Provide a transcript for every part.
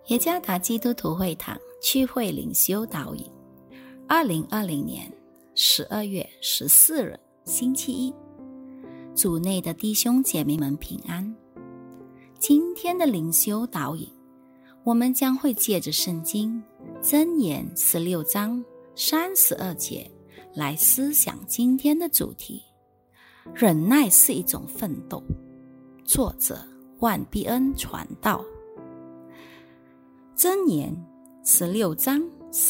耶加达基督徒会堂区会灵修导引，2020年12月14日星期一，主内的弟兄姐妹们平安。今天的灵修导引，我们将会借着圣经箴言16章32节来思想今天的主题：忍耐是一种奋斗。作者万必恩传道。箴言16章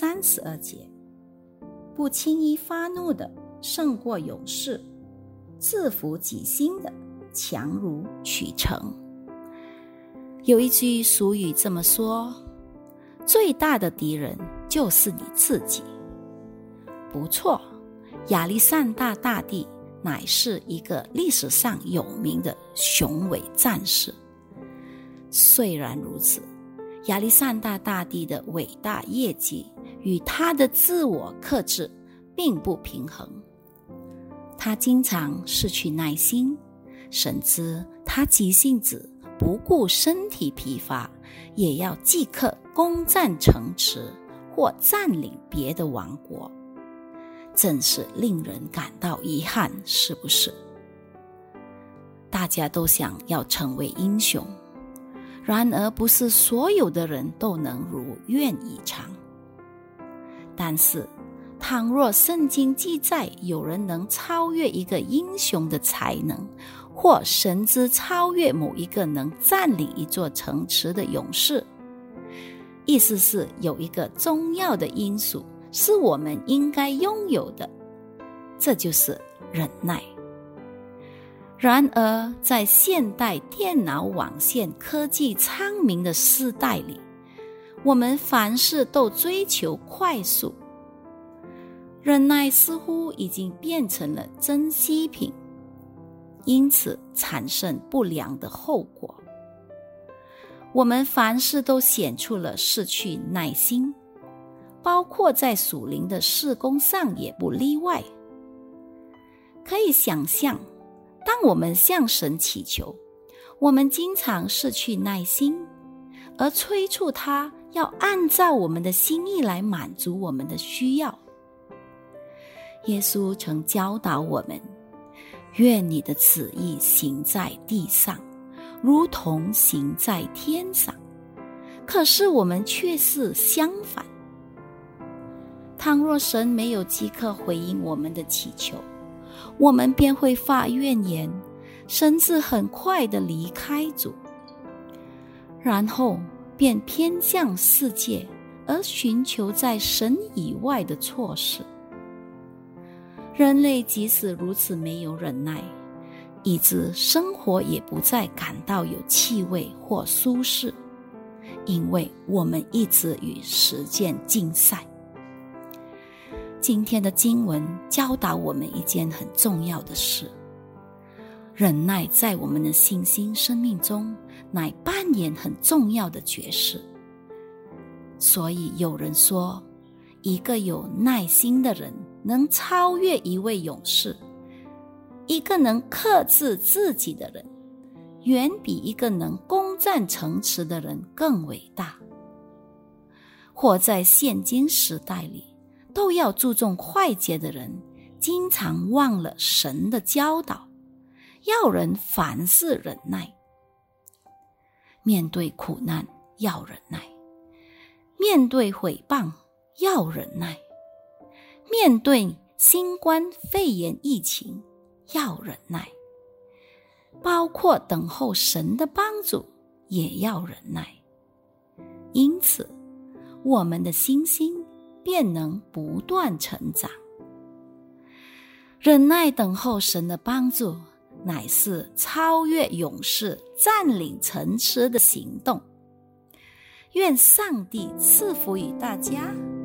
32节，不轻易发怒的胜过勇士，制服己心的强如取城。有一句俗语这么说：最大的敌人就是你自己。不错，亚历山大大帝乃是一个历史上有名的雄伟战士。虽然如此，亚历山大大帝的伟大业绩与他的自我克制并不平衡。他经常失去耐心，甚至他急性子，不顾身体疲乏，也要即刻攻占城池或占领别的王国，真是令人感到遗憾，是不是？大家都想要成为英雄，然而不是所有的人都能如愿以偿。但是倘若圣经记载有人能超越一个英雄的才能，或甚至超越某一个能占领一座城池的勇士，意思是有一个重要的因素是我们应该拥有的，这就是忍耐。然而在现代电脑网线科技昌明的时代里，我们凡事都追求快速，忍耐似乎已经变成了珍稀品，因此产生不良的后果。我们凡事都显出了失去耐心，包括在属灵的事工上也不例外。可以想象，当我们向神祈求，我们经常失去耐心，而催促他要按照我们的心意来满足我们的需要。耶稣曾教导我们，愿你的旨意行在地上，如同行在天上。可是我们却是相反。倘若神没有即刻回应我们的祈求，我们便会发怨言，甚至很快地离开主，然后便偏向世界，而寻求在神以外的措施。人类即使如此没有忍耐，以致生活也不再感到有气味或舒适，因为我们一直与时间竞赛。今天的经文教导我们一件很重要的事：忍耐在我们的信心生命中乃扮演很重要的角色。所以有人说，一个有耐心的人能超越一位勇士，一个能克制自己的人远比一个能攻占城池的人更伟大。活在现今时代里，都要注重快捷的人经常忘了神的教导，要人凡事忍耐。面对苦难要忍耐，面对毁谤要忍耐，面对新冠肺炎疫情要忍耐，包括等候神的帮助也要忍耐。因此我们的信心便能不断成长。忍耐等候神的帮助，乃是超越勇士占领城池的行动。愿上帝赐福于大家。